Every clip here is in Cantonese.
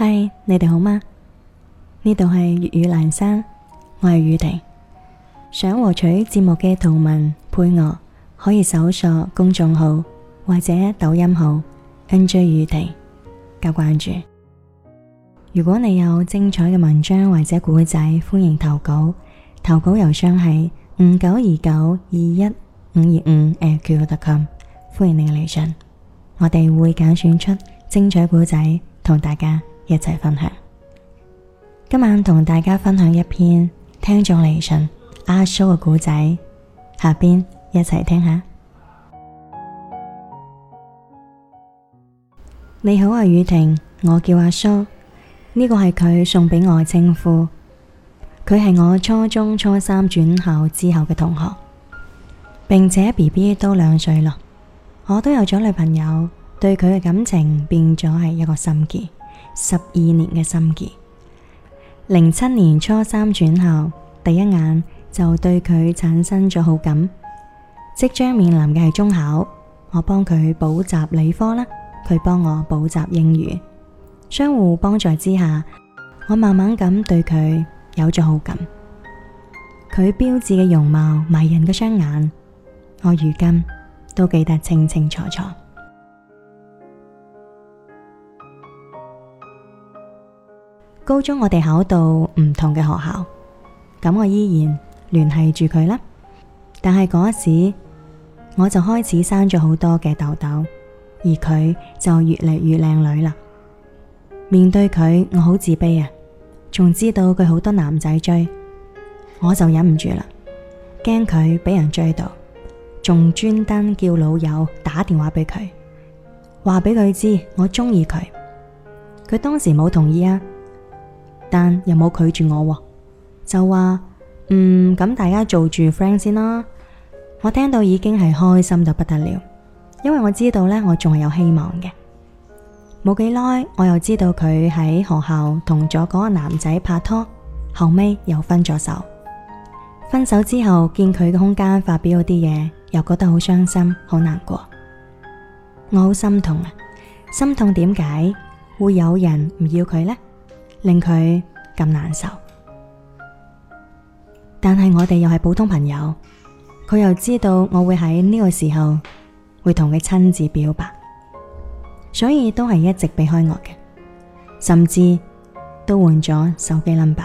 嗨，你哋好嗎？呢度係粵語闌珊，我係宇婷。想獲取節目嘅圖文配樂，可以搜索公眾號或者抖音號 NJ 宇婷加關注。如果你有精彩嘅文章或者故仔，歡迎投稿。投稿郵箱係5929215525@qq.com，歡迎你嘅嚟信，我哋會揀選出精彩故仔同大家一齊分享。今晚同大家分享一篇聽眾嚟信阿蘇嘅故仔，下邊一齊聽下。你好啊，宇婷，我叫阿蘇，呢個係佢送俾我嘅稱呼。佢係我初中初三轉校之後嘅同學，並且 BB 都2歲咯。我都有咗女朋友，對佢嘅感情變咗係一個心結，12年嘅心結。07年初三轉校，第一眼就對佢產生咗好感。即將面臨嘅係中考，我幫佢補習理科啦，佢幫我補習英語，相互幫助之下，我慢慢咁對佢有咗好感。佢標緻嘅容貌，迷人嘅雙眼，我如今都記得清清楚楚。高中我哋考到唔同嘅學校，咁我依然聯繫住佢啦。但係嗰時我就開始生咗好多嘅痘痘，而佢就越嚟越靚女啦。面對佢，我好自卑啊，仲知道佢好多男仔追，我就忍唔住啦，驚佢俾人追到，仲專登叫老友打電話俾佢，話俾佢知我中意佢。佢當時冇同意啊，但又冇拒絕我，就話咁大家做住 friend 先啦。我聽到已經係開心到不得了，因為我知道呢，我仲係有希望嘅。冇幾耐，我又知道佢喺學校同咗嗰個男仔拍拖，後尾又分咗手。分手之後見佢嘅空間發表嗰啲嘢，又覺得好傷心好難過。我好心痛啊，心痛點解會有人唔要佢呢？令佢咁難受。但係我哋又係普通朋友，佢又知道我會喺呢個時候會同佢親自表白，所以都係一直避開我嘅，甚至都換咗手機 number。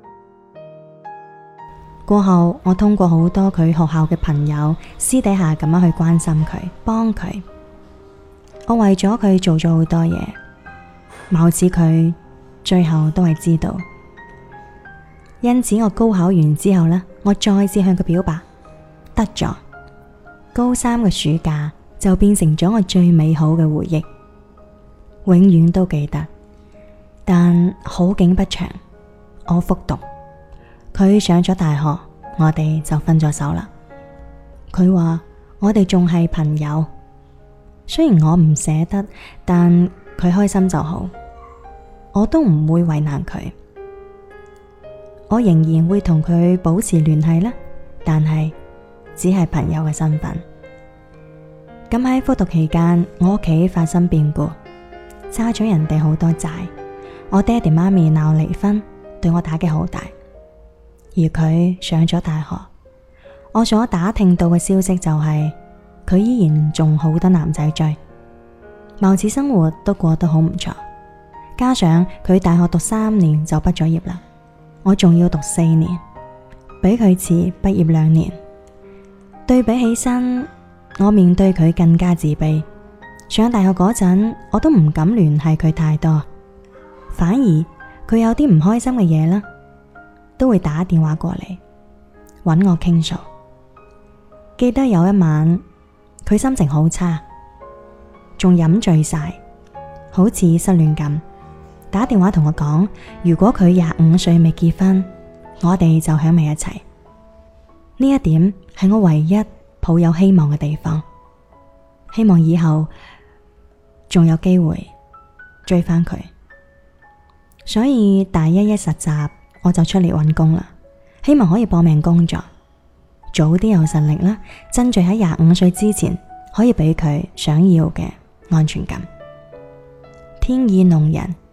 過後我通過好多佢學校嘅朋友，私底下咁樣去關心佢，幫佢。我為咗佢做咗好多嘢，貌似佢最後都係知道。因此我高考完之後呢，我再次向佢表白，得咗。高三嘅暑假就變成咗我最美好嘅回憶，永遠都記得。但好景不長，我復讀，佢上咗大學，我哋就分咗手啦。佢話我哋仲係朋友，雖然我唔捨得，但佢開心就好，我都唔會為難佢。我仍然會同佢保持聯繫啦，但係只係朋友嘅身份。咁喺復讀期間，我屋企發生變故，差咗人哋好多債，我爹哋媽咪鬧離婚，對我打擊好大。而佢上咗大學，我所打聽到嘅消息就係佢依然仲好多男仔追，貌似生活都過得好唔錯。加上佢大學讀3年就畢咗業啦，我仲要讀4年，比佢遲畢業2年。對比起身，我面對佢更加自卑。上大學嗰陣，我都唔敢聯繫佢太多，反而佢有啲唔開心嘅嘢啦，都會打電話過嚟搵我傾訴。記得有一晚，佢心情好差，仲飲醉晒，好似失戀咁，打電話同我講，如果佢25歲未結婚，我哋就喺埋一齊。呢一點係我唯一抱有希望嘅地方，希望以後仲有機會追返佢。所以大一實習我就出嚟搵工啦，希望可以搏命工作，早啲有實力啦，爭取喺25歲之前可以俾佢想要嘅安全感。天意弄人，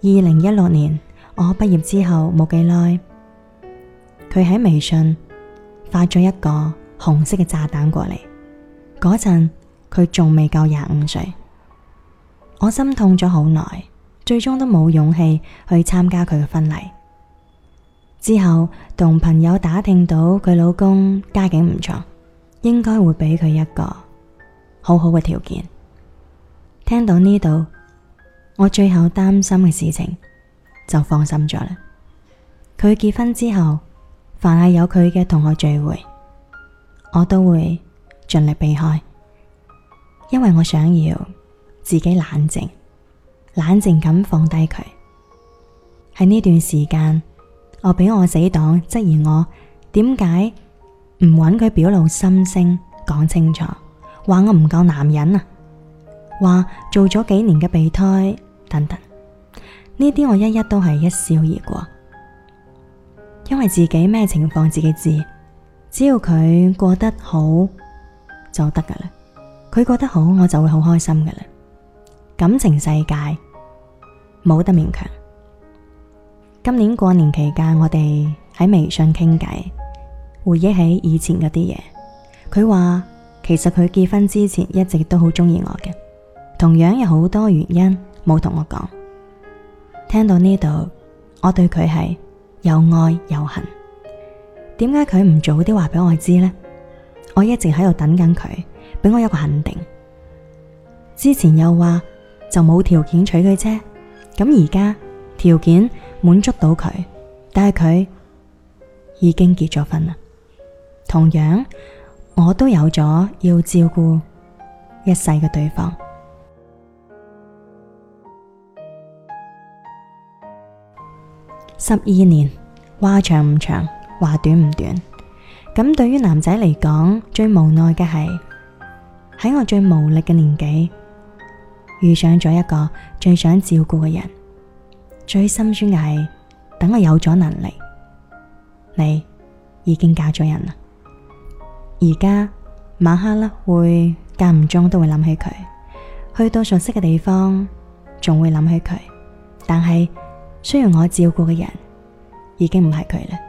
2016年我畢業之後冇幾耐，佢喺微信發咗一個紅色嘅炸彈過嚟。嗰陣佢仲未夠25歲，我心痛咗好耐，最終都冇勇氣去參加佢嘅婚禮。之後同朋友打聽到佢老公家境唔錯，應該會俾佢一個好好嘅條件。聽到呢度，我最後擔心嘅事情就放心咗啦。佢結婚之後，凡係有佢嘅同學聚會，我都會盡力避開，因為我想要自己冷靜咁放低佢。喺呢段時間，我俾我死黨質疑我點解唔搵佢表露心聲講清楚，話我唔夠男人啊，話做咗幾年嘅備胎等等。呢啲我一一都係一笑而過，因為自己咩情況自己知，只要佢過得好就得噶啦，佢過得好我就會好開心噶啦。感情世界冇得勉強。今年過年期間，我哋喺微信傾偈，回憶起以前嗰啲嘢。佢話其實佢結婚之前一直都好中意我嘅，同樣有好多原因冇同我講。聽到呢度，我對佢係又愛又恨。點解佢唔早啲話俾我知呢？我一直喺度等緊佢俾我一個肯定。之前又話就冇條件娶佢啫，咁而家條件滿足到佢，但係佢已經結咗婚啦。同樣我都有咗要照顧一世嘅對方。12年，話長唔長，話短唔短。咁對於男仔嚟講，最無奈嘅係喺我最無力嘅年紀遇上咗一個最想照顧嘅人。最心酸嘅係等我有咗能力，你已經嫁咗人啦。而家晚黑啦，會間唔中都會諗起佢，去到熟悉嘅地方仲會諗起佢，但係需要我照顧嘅人已經唔係佢啦。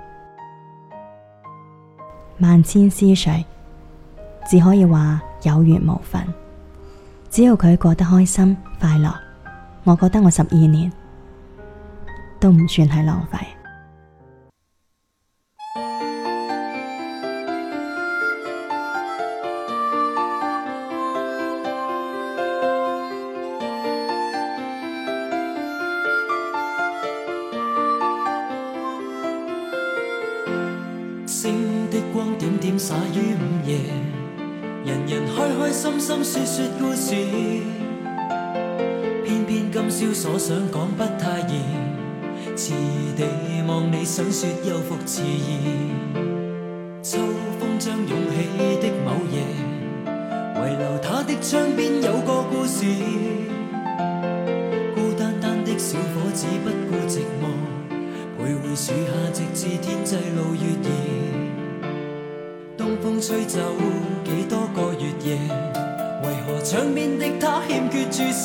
萬千思緒，只可以話有緣無分。只要佢過得開心快樂，我覺得我12年都唔算係浪費。 星的光點點灑於午夜，人人開開心心說說故事，偏偏今宵所想講不太易，遲地望你想說又復遲疑。秋風將湧起的某夜，遺留他的窗邊有個故事，孤單單的小伙子不顧寂寞，徘徊樹下直至天際露月兒。東風吹走幾多個月夜，為何窗邊的他欠缺注視？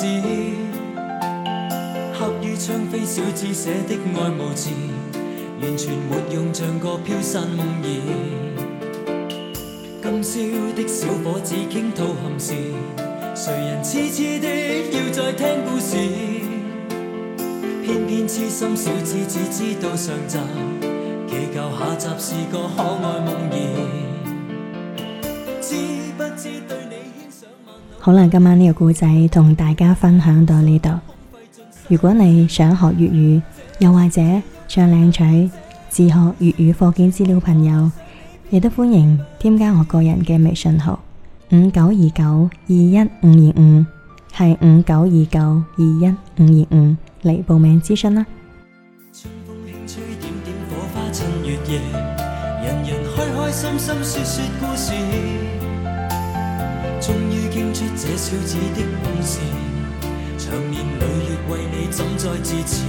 刻於窗扉小字寫的愛無字，完全沒用，像個飄散夢兒。今宵的小伙子傾吐憾事，誰人痴痴的要再聽故事？偏偏痴心小子只知道上集，祈求下集是個可愛夢兒。知不知對你牽上萬縷。 好啦，今晚呢個故仔同大家分享到呢度。如果你想學粵語，又或者想領取自學粵語課件資料，朋友亦都歡迎添加我個人嘅微信號5929212525，係5929212525嚟報名諮詢啦。 春風輕吹點點火花襯月夜，人人開開心心說說故事，終於傾出這小子的故事，長年累月為你怎再自持？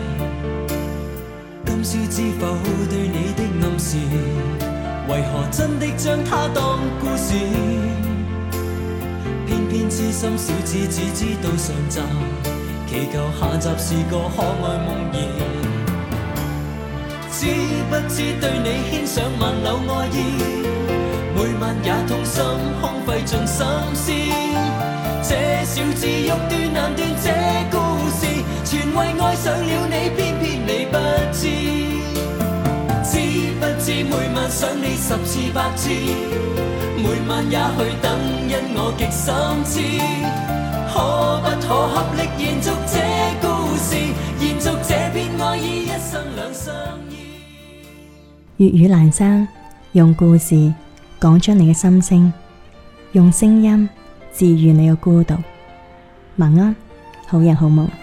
今宵知否對你的暗示，為何真的將它當故事？偏偏痴心小子只知道上集， 祈求下集是個可愛夢兒。知不知對你牽上萬縷愛意，每晚也痛心空費盡心思。這小子欲斷難斷這故事，全為愛上了你，偏偏你不知。知不知每晚想你10次100次，每晚也去等，因我極心知。可不可合力延續這故事，延續這片愛意，一生兩相依。 粵語闌珊，用故事講出你嘅心聲，用聲音治愈你嘅孤獨。晚安，好人好夢。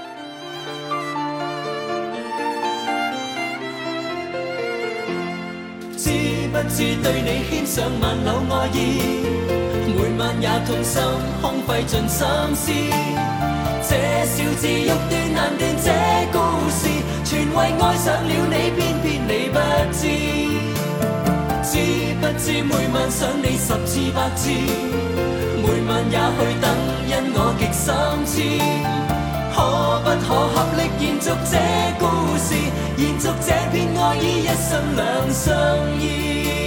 知不知對你牽上萬縷愛意，每晚也痛心空費盡心思。這小子欲斷難斷這故事，全為愛上了你，偏偏你不知。知不知每晚想你10次100次，每晚也去等，因我極心知。可不可合力延續這故事，延續這片愛意，一生兩相依。